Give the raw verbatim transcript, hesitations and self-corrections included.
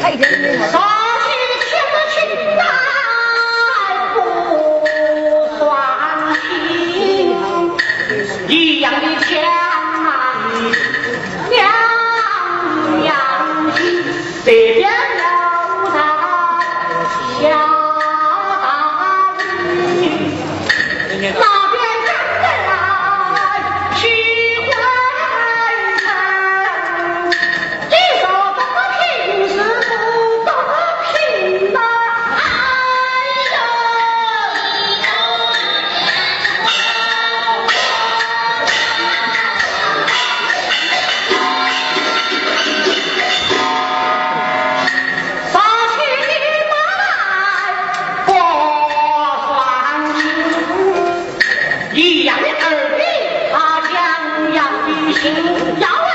一点点。 上去牵着裙来不算情，一样的枪啊，两样情，这边有他下大雨，那边赶得来去回城，你说怎么平时不公平呢？杀去你妈来过算情，一样的儿女他两样的心，要